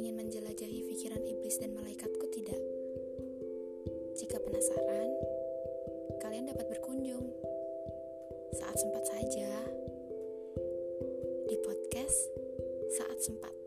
ingin menjelajahi pikiran iblis dan malaikatku? Tidak. Jika penasaran, kalian dapat berkunjung saat sempat saja di podcast Saat Sempat.